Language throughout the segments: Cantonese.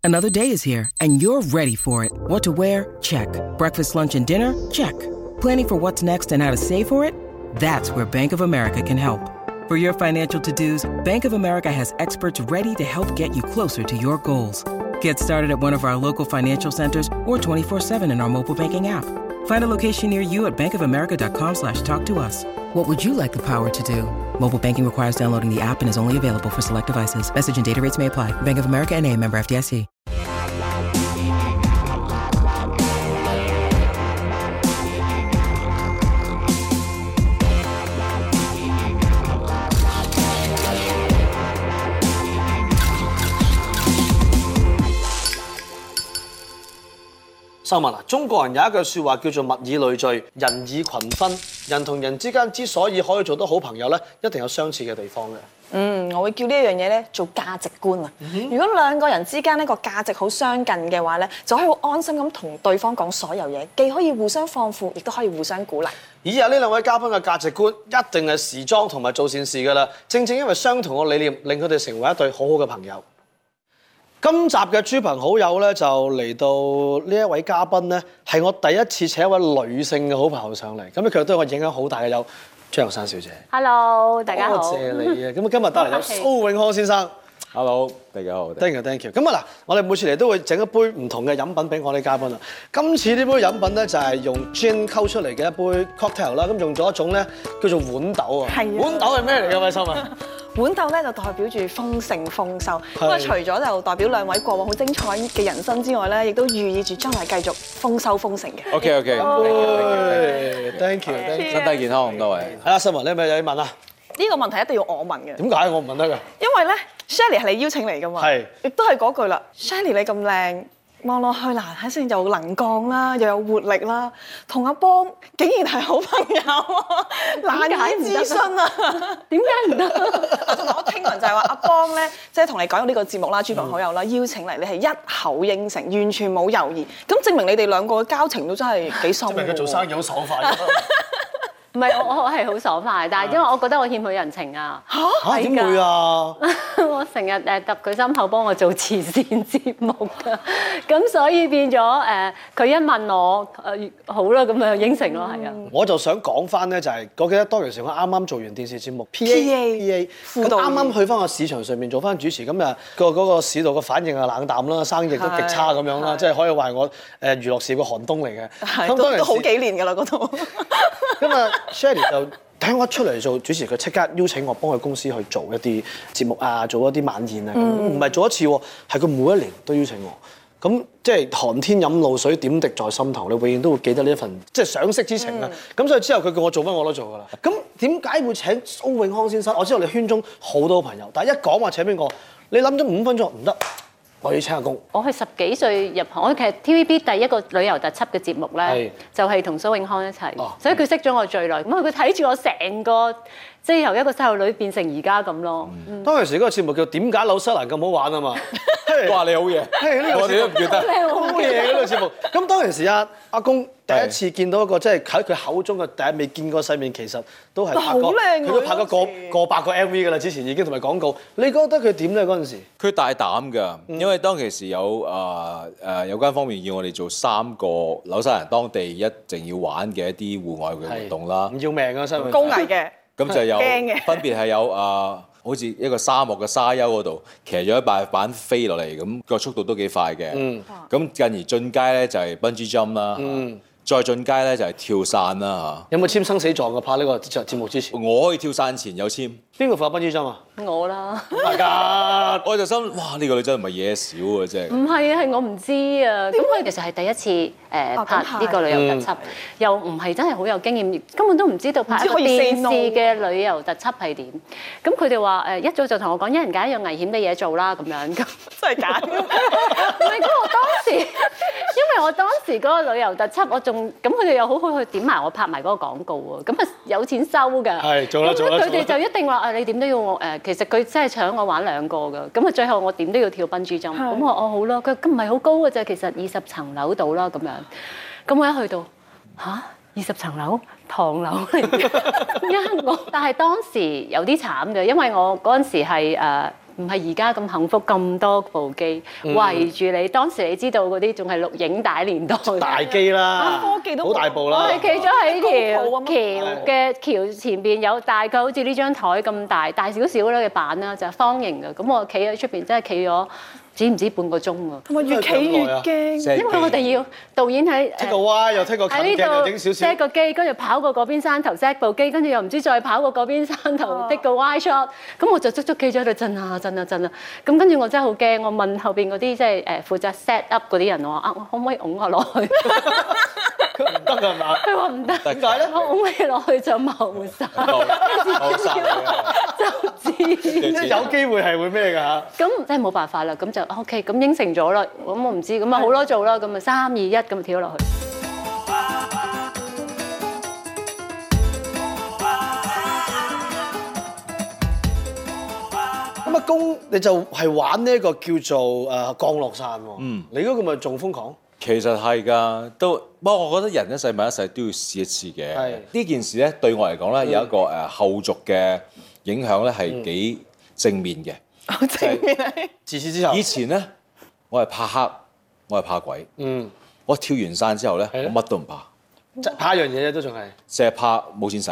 Another day is here, and you're ready for it. What to wear? Check. Breakfast, lunch, and dinner? Check. Planning for what's next and how to save for it? That's where Bank of America can help. For your financial to-dos, Bank of America has experts ready to help get you closer to your goals. Get started at one of our local financial centers or 24/7 in our mobile banking app. Find a location near you at bankofamerica.com/talktous. What would you like the power to do? Mobile banking requires downloading the app and is only available for select devices. Message and data rates may apply. Bank of America NA, member FDIC. 秀文啊，中國人有一句説話叫做物以類聚，人以群分。人同人之間之所以可以做得好朋友咧，一定有相似嘅地方嘅。 我會叫呢一樣嘢咧做價值觀啊。如果兩個人之間呢個價值好相近嘅話咧，就可以好安心咁同對方講所有嘢，既可以互相放負，亦都可以互相鼓勵。 以下呢兩位嘉賓嘅價值觀一定係時裝同埋做善事㗎啦。正正因為相同嘅理念，令佢哋成為一對好好嘅朋友。今集嘅豬朋好友咧，就嚟到呢一位嘉賓咧，係我第一次請一位女性嘅好朋友上嚟，咁佢對我影響好大嘅有張玉珊小姐。 Hello， 大家好。 多謝你啊！咁今日帶嚟有蘇永康先生。 Hello， 大家好。 Thank you。咁啊嗱，我哋每次嚟都會整一杯唔同嘅飲品俾我哋嘉賓啊。今次呢杯飲品咧就係用 gin 溝出嚟嘅一杯 cocktail 啦，咁用咗一種咧叫做豌豆啊。 係啊。 豌豆係咩嚟㗎，偉心啊？ 豌豆咧就代表住豐盛豐收，咁啊除咗就代表兩位過往好精彩嘅人生之外咧，亦都寓意住將來繼續豐收豐盛嘅。 OK，thank you， 身體健康咁多位。 係啦，秀文，你係咪有嘢問啊？ 呢個問題一定要我問嘅。 點解我唔問得㗎？ 因為咧 ，Shelly 係你邀請嚟㗎嘛。係。亦都係嗰句啦 ，Shelly 你咁靚。望落去嗱，睇先又能幹啦，又有活力啦，同阿邦竟然係好朋友啊，難以置信啊！點解唔得？同埋我聽聞就係話阿邦咧，即係同你講呢個節目啦，豬朋好友啦，邀請嚟，你係一口應承，完全冇猶豫，咁證明你哋兩個嘅交情都真係幾深。證明佢做生意好爽快。 唔係我係好爽快，但係因為我覺得我欠佢人情啊。 嚇點會啊？ 我成日揼佢心口幫我做慈善節目㗎，咁所以變咗佢一問我好啦，咁就應承咯，係啊。 我就想講翻咧，就係我記得當時我啱啱做完電視節目 PA 咁啱啱去翻個市場上面做翻主持，咁啊嗰個市道嘅反應啊冷淡啦，生意都極差咁樣啦，即係可以話係我娛樂事業嘅寒冬嚟嘅。咁都好幾年㗎啦嗰度。 咁啊 Shelly 就睇我一出嚟做主持，佢即刻邀請我幫佢公司去做一啲節目啊，做一啲晚宴啊，唔係做一次喎，係佢每一年都邀請我。咁即係寒天飲露水，點滴在心頭，你永遠都會記得呢一份即係賞識之情啊。咁所以之後佢叫我做乜我都做㗎啦。咁點解會請蘇永康先生？我知道你圈中好多朋友，但係一講話請邊個，你諗咗5分鐘唔得。我要請阿公。我係10幾歲入行，我其實 TVB 第一個旅遊特輯嘅節目咧，就係同蘇永康一齊，所以佢識咗我最耐。咁佢睇住我成個，即係由一個細路女變成而家咁咯。 當時嗰個節目叫點解紐西蘭咁好玩啊嘛？ 哇！你好嘢，我哋都唔記得。 好嘢嗰個節目。咁當時阿公第一次見到一個即係喺佢口中嘅第一未見過世面，其實都係拍過，佢都拍過過百個 MV 㗎啦。之前已經同埋廣告。你覺得佢點咧嗰陣時？ 佢大膽㗎，因為當其時有有關方面要我哋做3個紐西蘭當地一定要玩嘅一啲戶外嘅活動啦。 唔要命啊！真係高危嘅。 咁就有分別係有好似一個沙漠嘅沙丘嗰度騎咗一塊板飛落嚟，咁個速度都幾快嘅。咁進而進階咧就係 bungee jump 啦。再進階咧就係跳傘啦嚇。 有冇簽生死狀嘅拍呢個節目之前？ 我可以跳傘前有簽。邊個發 bungee jump 啊？ 我啦。 大家， 我就心哇呢個女真係唔係嘢少啊，真係。 唔係啊，係我唔知啊。咁佢其實係第一次拍呢個旅遊特輯，又唔係真係好有經驗，根本都唔知道拍一個電視嘅旅遊特輯係點。咁佢哋話一早就同我講，一人揀一樣危險嘅嘢做啦，咁樣。咁真係揀。 唔係，咁我當時，因為我當時嗰個旅遊特輯，我仲咁佢哋又好好去點埋我拍埋嗰個廣告喎，咁啊有錢收㗎。 係做啦。 佢哋就一定話你點都要我其實佢真係搶我玩2個㗎，咁啊最後我點都要跳bungee jump，咁我好咯，佢咁唔係好高嘅啫，其實20層樓到啦咁樣，咁我一去到20層樓唐樓嚟嘅，我，但係當時有啲慘嘅，因為我嗰陣時係唔係而家咁幸福，咁多部機圍住你。當時你知道嗰啲仲係錄影帶年代， 大機啦， 科技都好大部啦。 我哋企咗喺條橋嘅橋前邊，有大概好似呢張台咁大少少啦嘅板啦，就係方形嘅。咁我企喺出邊，真係企咗止唔止半個鐘啊！ 同埋越企越驚， 因為我哋要導演喺剔個歪又剔個近鏡又整少少 set 個機，跟住跑過嗰邊山頭 set 部機，跟住又唔知再跑過嗰邊山頭剔個 wide shot， 咁我就足足企咗喺度震啊！咁跟住我真係好驚，我問後邊嗰啲即係負責 set up 嗰啲人，我話我可唔可以擁我落去？ 佢唔得㗎嘛？ 佢話唔得。 點解咧？ 我擁你落去就謀殺，就知有機會係會咩㗎嚇？ 咁真係冇辦法啦，咁就 OK， 咁應承咗啦。咁我唔知，咁啊好咯做啦，咁啊3、2、1咁跳落去。 咁阿公你就係玩呢一個叫做降落傘喎。你嗰個咪仲瘋狂？ 其實係㗎，不過我覺得人一世物一世都要試一次嘅。呢件事咧對我嚟講咧有一個後續嘅影響咧係幾正面嘅。 好正面啊！ 自此之後， 以前咧我係怕黑，我係怕鬼。我跳完傘之後咧，我乜都唔怕。 怕一樣嘢啫，都仲係。 成日怕冇錢使。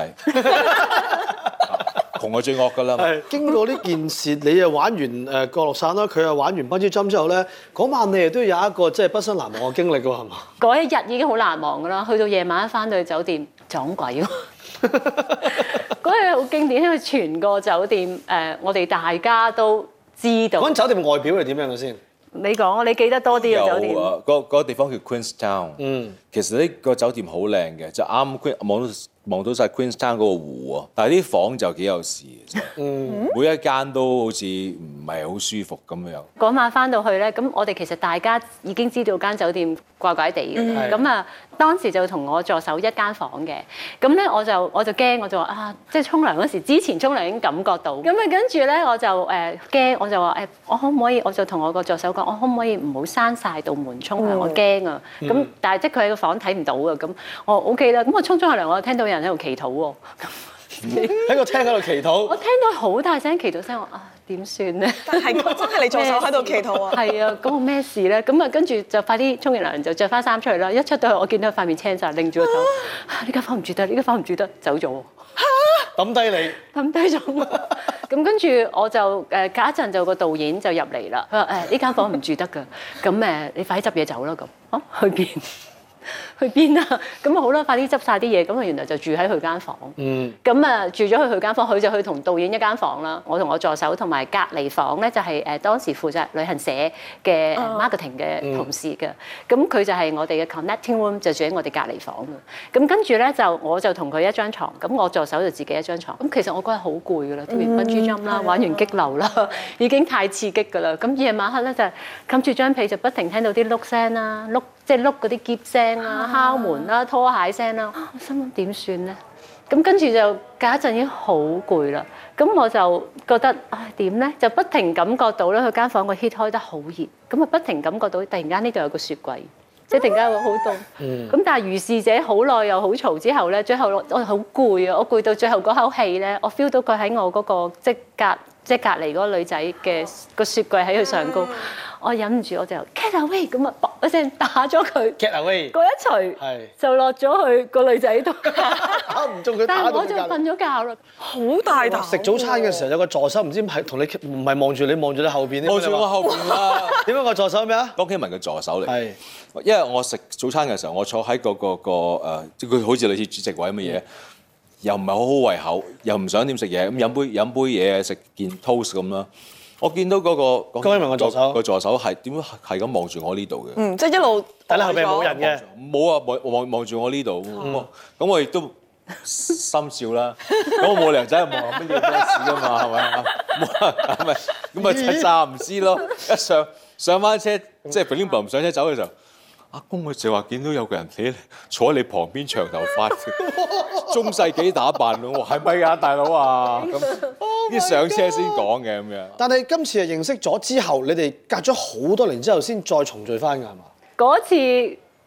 窮係最惡㗎啦。 經過呢件事，你又玩完降落傘啦，佢又玩完Bungee Jump之後咧，嗰晚你哋都有一個即係畢生難忘嘅經歷㗎喎，係嘛？ 嗰一日已經好難忘㗎啦，去到夜晚翻到去酒店撞鬼喎。嗰日好經典，因為全個酒店我哋大家都知道。 嗰間酒店外表係點樣嘅先？ 你講，你記得多啲嘅酒店。 嗰個地方叫 Queenstown。其實呢個酒店好靚嘅，就啱望到晒 Queenstown 嗰個湖喎。但係啲房就幾有事嘅，每一間都好似唔係好舒服咁樣。 嗰晚翻到去咧，咁我哋其實大家已經知道間酒店怪怪地嘅。咁啊，當時就同我助手一間房嘅。咁咧我就驚，我就話啊，即係沖涼嗰時，之前沖涼已經感覺到。咁啊跟住咧我就驚，我就話我可唔可以？我就同我個助手講，我可唔可以唔好閂晒道門沖涼？我驚啊！咁但係即係佢喺個房睇唔到啊。咁我 OK 啦。咁我沖下涼，我就聽到有人喺度祈禱喎。 喺個廳喺度祈禱。 我聽到好大聲祈禱聲，我點算咧？ 但係真係你助手喺度祈禱啊！ 係啊，咁我咩事咧？咁啊跟住就快啲沖完涼就着翻衫出嚟啦。一出到去我見到佢塊面青晒，擰住個頭，呢間房唔住得，呢間房唔住得，走咗喎。 抌低你， 抌低咗我。咁跟住我就隔一陣就個導演就入嚟啦。佢話呢間房唔住得㗎，咁你快啲執嘢走啦咁。去邊？去邊啊？咁啊好啦，快啲執晒啲嘢。咁啊原來就住喺佢間房。咁啊住咗去佢間房，佢就去同導演一間房啦。我同我助手同埋隔離房咧就係當時負責旅行社嘅 marketing 嘅同事嘅。咁佢就係我哋嘅 connecting room，就住喺我哋隔離房嘅。咁跟住咧我就同佢一張床，咁我助手就自己一張床。咁其實我嗰日好攰㗎啦，跳完Bungee Jump啦，玩完激流啦，已經太刺激㗎啦。咁夜晚黑咧就冚住張被就不停聽到啲碌聲啦，即係碌嗰啲篋聲啦、敲門啦、拖鞋聲啦，我心諗點算咧？咁跟住就隔一陣已經好攰啦。咁我就覺得點咧？就不停感覺到咧，佢間房個 heat 開得好熱，咁啊不停感覺到突然間呢度有個雪櫃，即係突然間會好凍。咁但係如是者好耐又好嘈之後咧，最後我好攰啊！我攰到最後嗰口氣咧，我 feel 到佢喺我嗰個即係隔離嗰個女仔嘅個雪櫃喺佢上高。我忍唔住，我就 get away 咁啊，噥一聲打咗佢。 get away 嗰一錘就落咗去個女仔度， 打唔中佢。 但係我就瞓咗覺啦， 好大膽。 食早餐嘅時候有個助手，唔知係同你唔係望住你，望住你後邊。 望住我後邊啦。 點解個助手咩啊？ 江啟文嘅助手嚟。 係， 因為我食早餐嘅時候，我坐喺即佢好似類似主席位咁嘅嘢，又唔係好好胃口，又唔想點食嘢，咁飲杯嘢食件 toast 咁啦。我見到嗰個江啟文個助手係點樣係咁望住我呢度嘅？ 即係一路但係後邊冇人嘅。 冇啊，望住我呢度。咁我亦都心照啦。咁我冇理由仔望乜嘢咩事㗎嘛，係咪啊？咁咪就詐唔知咯。一上翻車，即係 bling bling 上車走嘅時候，阿公佢就話見到有個人坐喺你旁邊，長頭髮，中世紀打扮咯。我話係咪啊，大佬啊？咁啲上車先講嘅咁樣。 但係今次係認識咗之後，你哋隔咗好多年之後先再重聚翻㗎係嘛？ 嗰次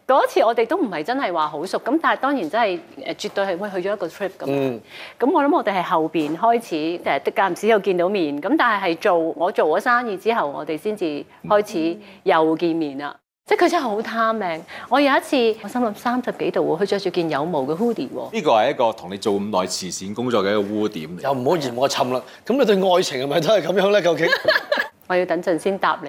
嗰次我哋都唔係真係話好熟，咁但係當然真係絕對係去咗一個 trip 咁。咁我諗我哋係後邊開始間唔時有見到面，咁但係我做咗生意之後，我哋先至開始又見面啦。即係佢真係好貪命。我有一次我心諗30幾度喎，佢着住件有毛嘅 hoodie 喎。呢個係一個同你做咁耐慈善工作嘅一個污點。 又唔好嫌我沉啦。咁你對愛情係咪都係咁樣咧？究竟？ 我要等陣先答你。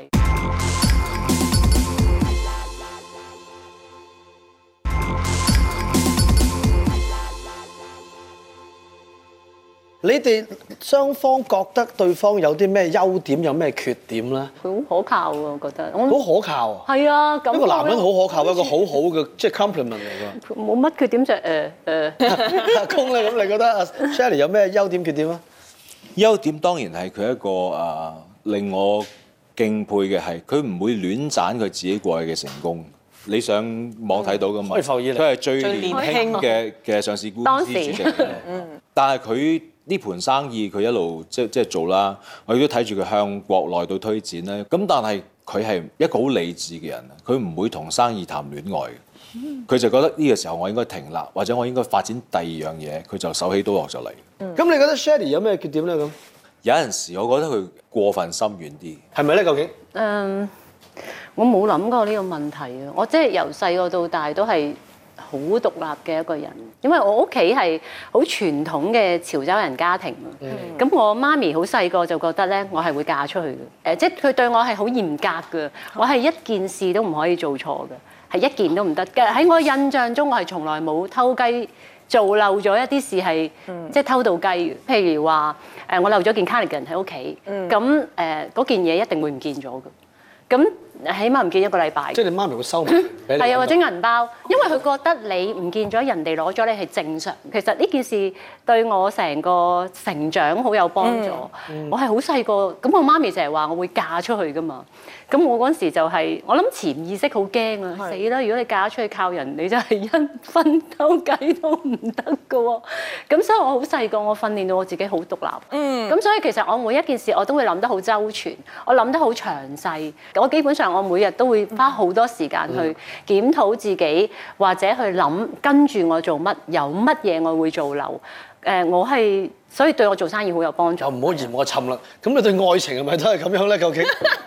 你哋雙方覺得對方有啲咩優點，有咩缺點咧？ 佢好可靠喎，我覺得。 好可靠啊！ 係啊，咁一個男人好可靠，一個好好嘅即係 compliment 嚟㗎。 冇乜缺點就阿公咧，咁你覺得阿 Shirley 有咩優點缺點啊？ 優點當然係佢一個令我敬佩嘅係，佢唔會亂賺佢自己過去嘅成功。你上網睇到㗎嘛？佢係最年輕嘅上市公司主席。但係佢呢盤生意佢一路即係做啦，我亦都睇住佢向國內度推展咧。咁但係佢係一個好理智嘅人，佢唔會同生意談戀愛嘅。佢就覺得呢個時候我應該停啦，或者我應該發展第二樣嘢，佢就手起刀落就嚟。 咁你覺得 Shirley 有咩缺點咧？咁有陣時我覺得佢過分心軟啲， 係咪咧？究竟？ 我冇諗過呢個問題啊！我即係由細個到大都係好獨立嘅一個人，因為我屋企係好傳統嘅潮州人家庭啊。咁我媽咪好細個就覺得咧，我係會嫁出去嘅。即係佢對我係好嚴格嘅，我係一件事都唔可以做錯嘅，係一件都唔得嘅。喺我印象中，我係從來冇偷雞做漏咗一啲事係即係偷到雞嘅。譬如話我漏咗件 cardigan 喺屋企，咁嗰件嘢一定會唔見咗嘅。咁起碼唔見一個禮拜。即係你媽咪會收埋俾你。 係啊，或者銀包，因為佢覺得你唔見咗，人哋攞咗你係正常。其實呢件事對我成個成長好有幫助。我係好細個，咁我媽咪成日話我會嫁出去㗎嘛。咁我嗰陣時就係、我諗潛意識好驚啊！死啦！如果你嫁出去靠人，你真係一分偷雞都唔得㗎喎。咁所以我好細個，我訓練到我自己好獨立。咁所以其實我每一件事我都會諗得好周全，我諗得好詳細。我基本上我每日都會花好多時間去檢討自己，或者去諗跟住我做乜，有乜嘢我會做漏。我係所以對我做生意好有幫助。 又唔好嫌我沉啦。咁你對愛情係咪都係咁樣咧？究竟？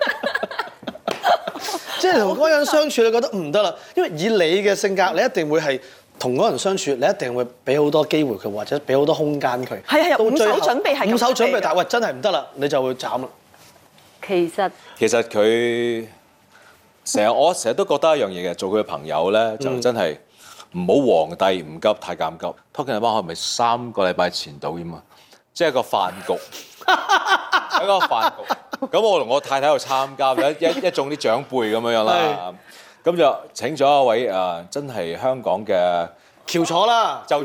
即係同嗰個人相處，你覺得唔得啦，因為以你嘅性格，你一定會係同嗰個人相處，你一定會俾好多機會佢，或者俾好多空間佢。 係五手準備係咁。五手準備， 但係喂真係唔得啦，你就會斬啦。 其實佢我成日都覺得一樣嘢嘅，做佢嘅朋友咧就真係唔好皇帝唔急太監急。Talking about 係咪3個禮拜前到㗎嘛？即係個飯局，喺個飯局。咁我同我太太又參加，一眾啲長輩咁樣啦。咁就請咗一位真係香港嘅翹楚啦， 受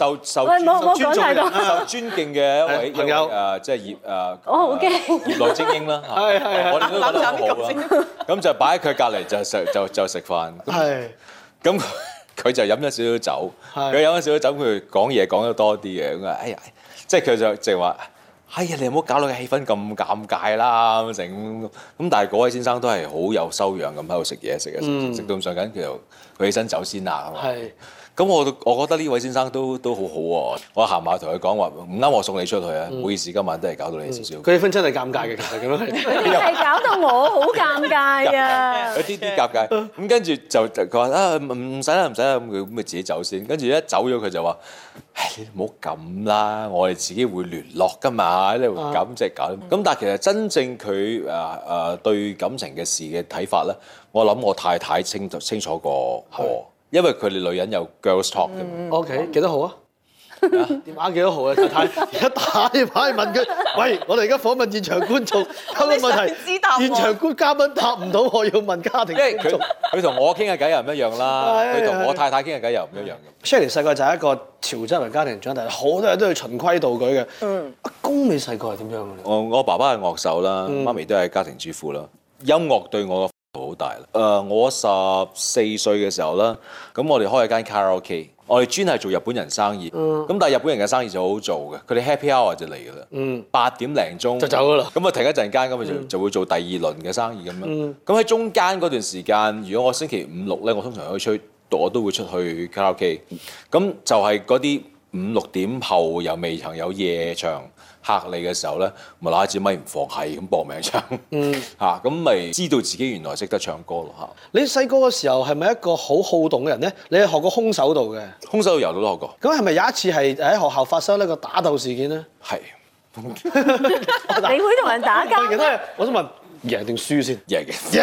尊敬嘅一位朋友即係我好驚業內精英啦。我哋都覺得好好啦。咁就擺喺佢隔離就食飯。咁佢就飲咗少少酒，佢飲咗少少酒，佢講嘢講得多啲嘅。咁哎呀，即係佢就淨係話。哎呀，你唔好搞到個氣氛咁尷尬啦咁成咁，但係嗰位先生都係好有修養咁喺度食嘢食到咁上緊，佢起身走先啦。係。咁我覺得呢位先生都好好喎。我行埋同佢講話唔啱，我送你出去啊！唔好意思，今晚都係搞到你少少。 佢氣氛真係尷尬嘅，其實咁樣係搞到我好尷尬啊！ 有啲尷尬。咁跟住就佢話唔使啦，咁佢咪自己走先。跟住一走咗佢就話：唉，你唔好咁啦，我哋自己會聯絡㗎嘛，你咁即係搞。咁但係其實真正佢對感情嘅事嘅睇法咧，我諗我太太清楚過我。因為佢哋女人有 girls talk 嘅。 OK， 幾多號啊？電話幾多號啊？太太而家打電話去問佢，喂，我哋而家訪問現場觀眾，有個問題，現場嘉賓答唔到，我要問家庭觀眾。 佢同我傾嘅偈又唔一樣啦，佢同我太太傾嘅偈又唔一樣嘅。 Shirley 細個就係一個潮州人家庭長大，好多人都要循規蹈矩嘅。阿公你細個係點樣嘅？ 我爸爸係樂手啦，媽咪都係家庭主婦啦。音樂對我好大啦！我14歲嘅時候啦，咁我哋開咗間卡拉 OK， 我哋專係做日本人生意。咁但係日本人嘅生意就好好做嘅，佢哋 happy hour 就嚟㗎啦。8點零鐘就走㗎啦。 咁啊停一陣間，咁就會做第二輪嘅生意咁樣。咁喺中間嗰段時間，如果我星期5、6咧，我通常可以出我都會出去卡拉 OK。咁就係嗰啲5、6點後又未曾有夜場客嚟嘅時候咧，咪拿支咪唔放，係咁搏命唱。嚇，咁咪知道自己原來識得唱歌咯嚇。 你細個嘅時候係咪一個好好動嘅人咧？你係學過空手道嘅？ 空手道柔道都學過。 咁係咪有一次係喺學校發生一個打鬥事件咧？ 係。 你會同人打交？ 我想問贏定輸先？ 贏嘅。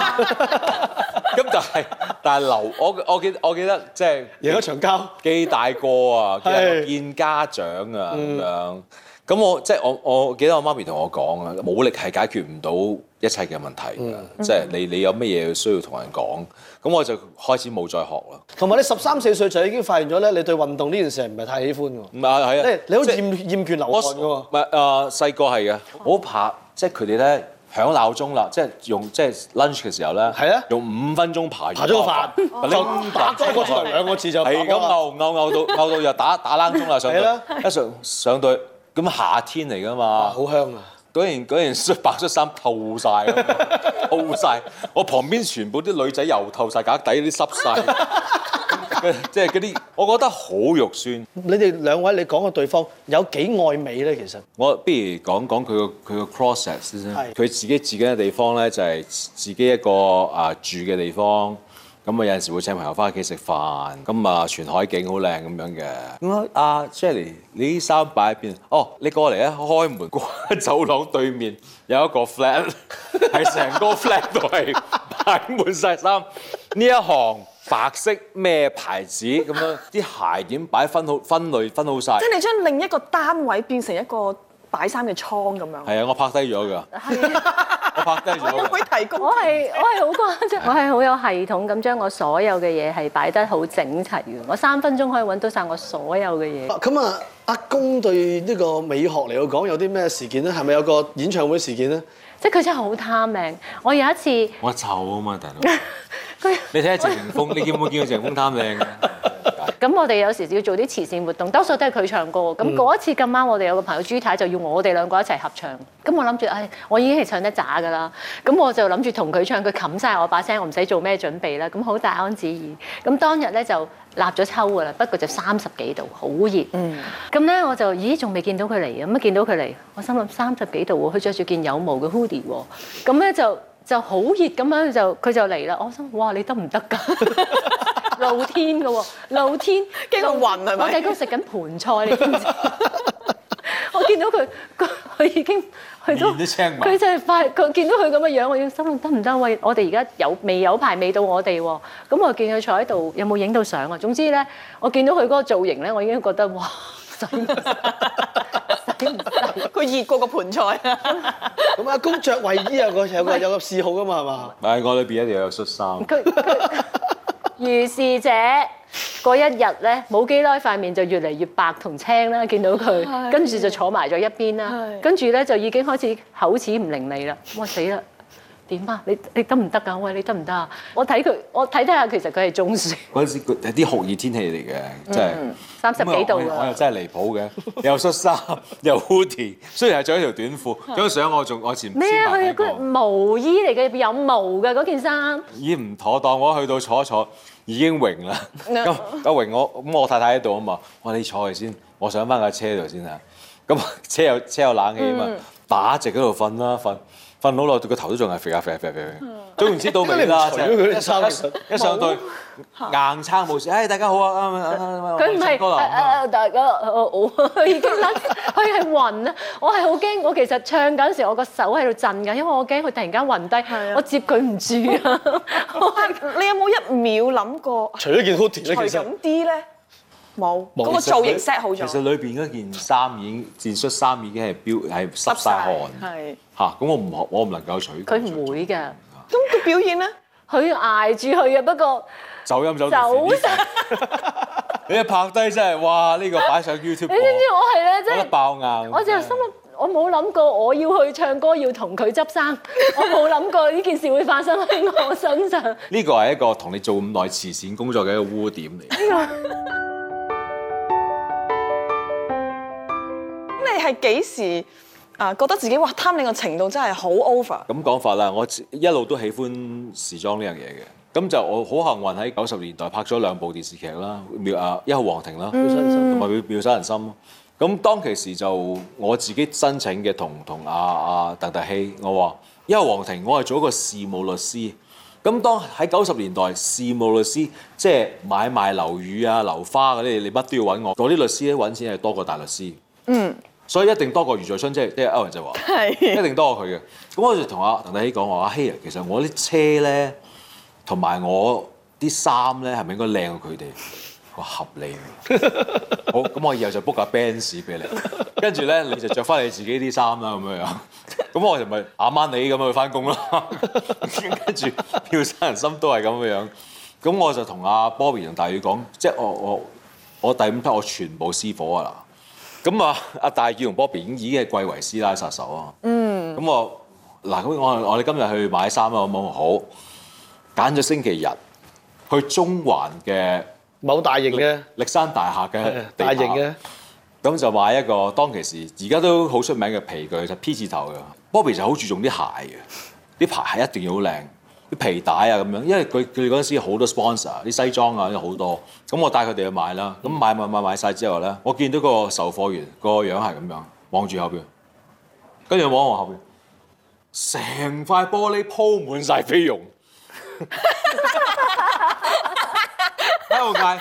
咁但係我記得即係贏一場交， 幾大個啊，見家長啊咁樣。咁我記得我媽咪同我講啊，武力係解決唔到一切嘅問題㗎，即係你有乜嘢需要同人講，咁我就開始冇再學啦。同埋你13、14歲就已經發現咗咧，你對運動呢件事係唔係太喜歡㗎？ 唔係係啊， 你好厭倦流汗㗎喎。 唔係細個係嘅，我好怕即係佢哋咧響鬧鐘啦，即係 lunch 嘅時候咧，係啊，用5分鐘爬咗個飯，就打多個場2個字就係咁嘔到又打冷鐘啦，上到咁夏天嚟㗎嘛， 好香啊！ 嗰件白恤衫透晒，我旁邊全部啲女仔又透晒，架底啲濕晒，即係嗰啲，我覺得好肉酸。 你哋兩位，你講個對方有幾愛美咧？其實我不如講佢個 process 先。佢自己嘅地方咧，就係自己一個住嘅地方。咁有陣時會請朋友翻屋企食飯，咁全海景好靚咁樣嘅。咁Shirley， 你啲衫擺喺邊？哦，你過嚟啊！開門過走廊對面有一個 flat， 係成個 flat 都係擺滿晒衫。呢一行白色咩牌子咁樣，啲鞋點擺分好晒。 即係你將另一個單位變成一個擺衫嘅倉咁樣。 係啊，我拍低咗㗎。我拍低咗。 會提供。我係好誇張，我係好有系統咁將我所有嘅嘢係擺得好整齊嘅。我3分鐘可以揾到晒我所有嘅嘢。 咁阿公對呢個美學嚟講有啲咩事件咧？係咪有個演唱會事件咧？ 即係佢真係好貪靚。我有一次， 我醜啊嘛，大佬。你睇下謝霆鋒，你見冇見過謝霆鋒貪靚嘅？ 咁我哋有時要做啲慈善活動，多數都係佢唱歌。咁嗰一次咁啱，我哋有個朋友朱太就要我哋2個一齊合唱。咁我諗住，我已經係唱得渣㗎啦。咁我就諗住同佢唱，佢冚晒我把聲，我唔使做咩準備啦。咁好大安旨意。咁當日咧就立咗秋㗎啦，不過就30幾度，好熱。咁咧我就仲未見到佢嚟，咁見到佢嚟，我心諗30幾度喎，佢着住件有毛嘅 hoodie 喎。咁咧就好熱咁樣，佢就嚟啦。我心哇，你得唔得㗎？露天嘅喎，露天驚到暈係咪？ 我喺度食緊盤菜，你知唔知？我見到佢已經去到，佢就係快，佢見到佢咁嘅樣，我已經心諗得唔得？喂，我哋而家未有排未到我哋喎。咁我見佢坐喺度，有冇影到相啊？總之咧，我見到佢嗰個造型咧，我已經覺得哇，使唔使？ 佢熱過個盤菜啊！ 咁阿公着衞衣有個嗜好㗎嘛係嘛？ 係我裏邊一定要有恤衫。 如是者嗰一日咧，冇幾耐塊面就越嚟越白同青啦，見到佢，跟住就坐埋咗一邊啦，跟住咧就已經開始口齒唔伶俐啦。哇死啦！點啊？你得唔得㗎？喂，你得唔得啊？我睇下，其實佢係中暑。嗰陣時係啲酷熱天氣嚟嘅，真係30幾度啊！ 我又真係離譜嘅，又恤衫又 hoodie， 雖然係着一條短褲。張相我前咩啊？佢個毛衣嚟嘅，有毛嘅嗰件衫。 已經唔妥當，我去到坐一坐已經榮啦。咁阿榮我太太喺度啊嘛，我話你坐嚟先，我上翻架車度先啊。咁車有冷氣啊嘛，打直嗰度瞓啦，瞓好耐，個頭都仲係肥下。總言之到尾啦，一上到硬撐冇事，大家好啊！ 佢唔係大家我已經甩，佢係暈啊！我係好驚，我其實唱緊時，我個手喺度震緊，因為我驚佢突然間暈低，我接佢唔住啊！ 你有冇1秒諗過？ 除咗件 hoodie 咧， 其實咁啲咧冇，嗰個造型 set 好咗。 其實裏邊嗰件衫件恤衫已經係濕晒汗，係嚇。咁我唔能夠取佢。 佢唔會㗎。 咁佢表演咧？ 佢捱住佢啊，不過走音走晒。你一拍低真係哇！呢個擺上 YouTube， 你知唔知我係咧，真係爆硬。 我就心諗，我冇諗過我要去唱歌要同佢執衫，我冇諗過呢件事會發生喺我身上。呢個係一個同你做咁耐慈善工作嘅一個污點嚟。 咁你係幾時覺得自己哇貪靚嘅程度真係好 over。 咁講法啦，我一路都喜歡時裝呢樣嘢嘅。咁就我好幸運喺90年代拍咗2部電視劇啦，一號皇庭啦，同埋妙手仁心。咁當其時就我自己申請嘅同阿鄧特希，我話一號皇庭我係做一個事務律師。咁當喺90年代，事務律師即係買賣樓宇啊、樓花嗰啲，你乜都要揾我。嗰啲律師咧揾錢係多過大律師。所以一定多過余在春，即係歐陽就話，一定多過佢嘅。咁我就同阿鄧特希講話：阿希啊，其實我啲車咧，同埋我啲衫咧，係咪應該靚過佢哋？我合理喎。好，咁我以後就 book 架 Benz 俾你，跟住咧你就着翻你自己啲衫啦，咁樣樣。咁我就咪啱啱你咁樣去翻工啦。跟住妙手仁心都係咁樣。咁我就同阿 Bobby 同大宇講，即係我第5批我全部私伙啊嗱。咁阿大宇同 Bobby 已經係貴為師奶殺手啊。咁我哋今日去買衫啊，好冇？好，揀咗星期日去中環嘅某大型嘅歷山大廈嘅大型嘅， 咁就買一個當其時而家都好出名嘅皮具，就 P 字頭嘅。Bobby 就好注重啲鞋嘅，啲牌係一定要好靚，啲皮帶啊咁樣，因為佢哋嗰陣時好多 sponsor， 啲西裝啊好多。咁我帶佢哋去買啦，咁買晒之後咧，我見到個售貨員個樣係咁樣望住後邊，跟住望後邊，成塊玻璃鋪滿晒菲傭。喺度嗌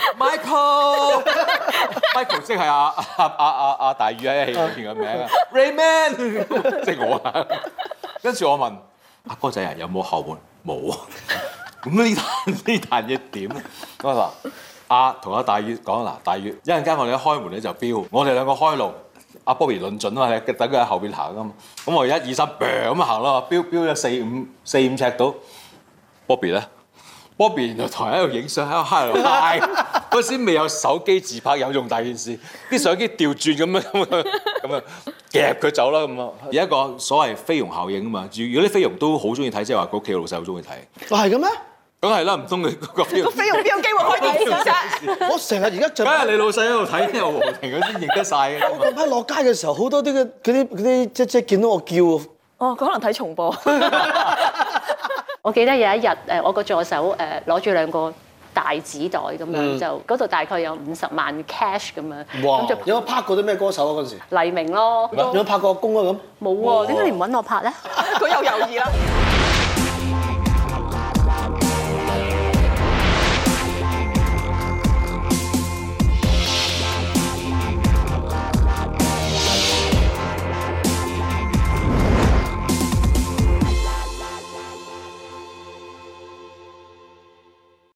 Michael 即係阿大宇喺戲裏邊嘅名啊 Rayman 即係我啊。跟住我問阿哥仔啊，有冇後門？冇啊。咁呢壇嘢點咧？咁我話同阿大宇講嗱，大宇一陣間我哋一開門咧就飆，我哋兩個開路，阿 Bobby 論準啊嘛，等佢喺後邊行啊嘛。咁我1、2、3咁行咯，飆咗4、5尺到 Bobby 咧。Bobby 原來同人喺度影相，喺度嗨，嗰時未有手機自拍有用大件事，啲相機調轉咁樣夾佢走啦咁啊！有一個所謂菲傭效應啊嘛，如果啲菲傭都好中意睇，即係話佢屋企老細好中意睇。 係嘅咩？ 梗係啦，唔通佢個菲傭邊有機會開電視啫？ 我成日而家就梗係你老細喺度睇，有皇庭嗰啲認得晒嘅。 我嗰批落街嘅時候，好多啲嗰啲即見到我叫。 哦，佢可能睇重播。 我記得有一日我個助手攞住2個大紙袋咁樣，就嗰度大概有50萬 cash 咁樣。 哇！ 咁就有冇拍過啲咩歌手啊？嗰陣時黎明咯。 有冇拍過阿公啊咁？ 冇喎，點解你唔揾我拍咧？ 佢又猶豫啦。